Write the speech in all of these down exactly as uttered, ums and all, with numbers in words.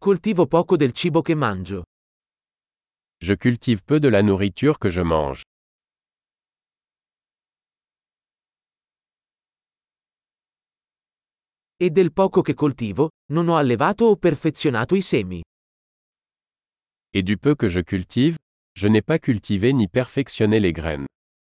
Coltivo poco del cibo che mangio. Je cultive peu de la nourriture que je mange. E del poco che coltivo, non ho allevato o perfezionato i semi. Et du peu que je cultive, je n'ai pas cultivé ni perfectionné les graines.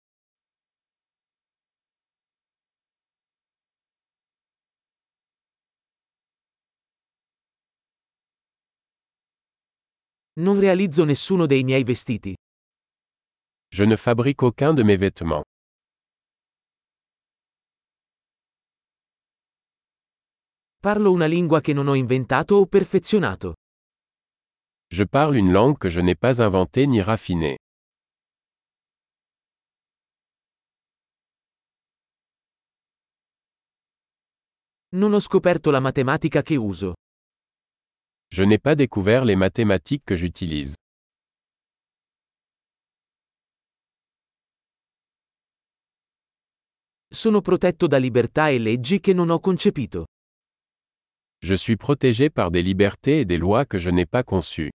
Non realizzo nessuno dei miei vestiti. Je ne fabrique aucun de mes vêtements. Parlo una lingua che non ho inventato o perfezionato. Je parle une langue que je n'ai pas inventée ni raffinée. Non ho scoperto la matematica che uso. Je n'ai pas découvert les mathématiques que j'utilise. Sono protetto da libertà e leggi che non ho concepito. Je suis protégé par des libertés et des lois que je n'ai pas conçues.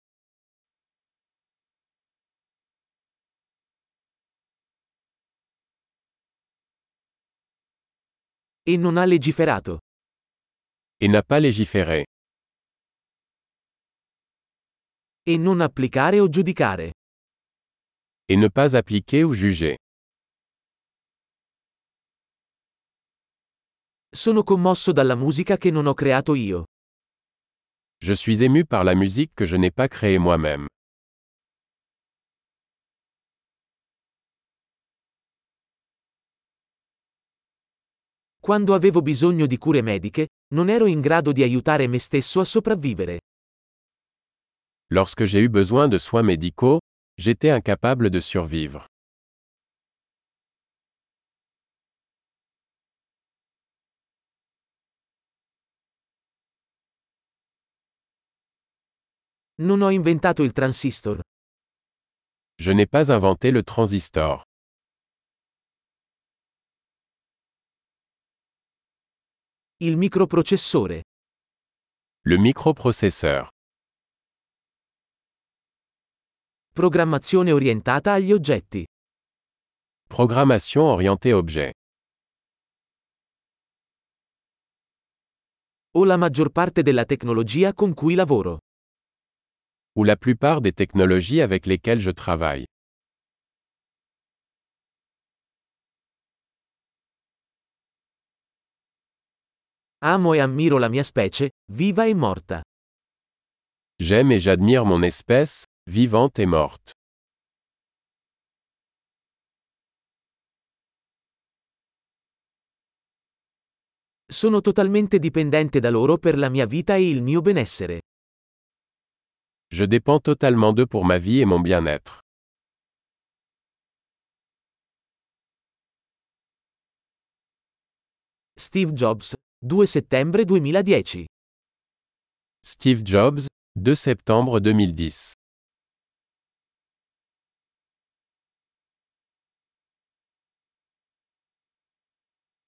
E non ha legiferato. Et n'a pas légiféré. E non applicare o giudicare. Et ne pas appliquer ou juger. Sono commosso dalla musica che non ho creato io. Je suis ému par la musique que je n'ai pas créée moi-même. Quando avevo bisogno di cure mediche, non ero in grado di aiutare me stesso a sopravvivere. Lorsque j'ai eu besoin de soins médicaux, j'étais incapable de survivre. Non ho inventato il transistor. Je n'ai pas inventé le transistor. Il microprocessore. Le microprocesseur. Programmazione orientata agli oggetti. Programmation orientée objet. O la maggior parte della tecnologia con cui lavoro. Ou la plupart des technologies avec lesquelles je travaille. Amo e ammiro la mia specie, viva e morta. J'aime et j'admire mon espèce, vivante et morte. Sono totalmente dipendente da loro per la mia vita e il mio benessere. Je dépends totalement d'eux pour ma vie et mon bien-être. Steve Jobs, due settembre duemiladieci. Steve Jobs, deux septembre deux mille dix.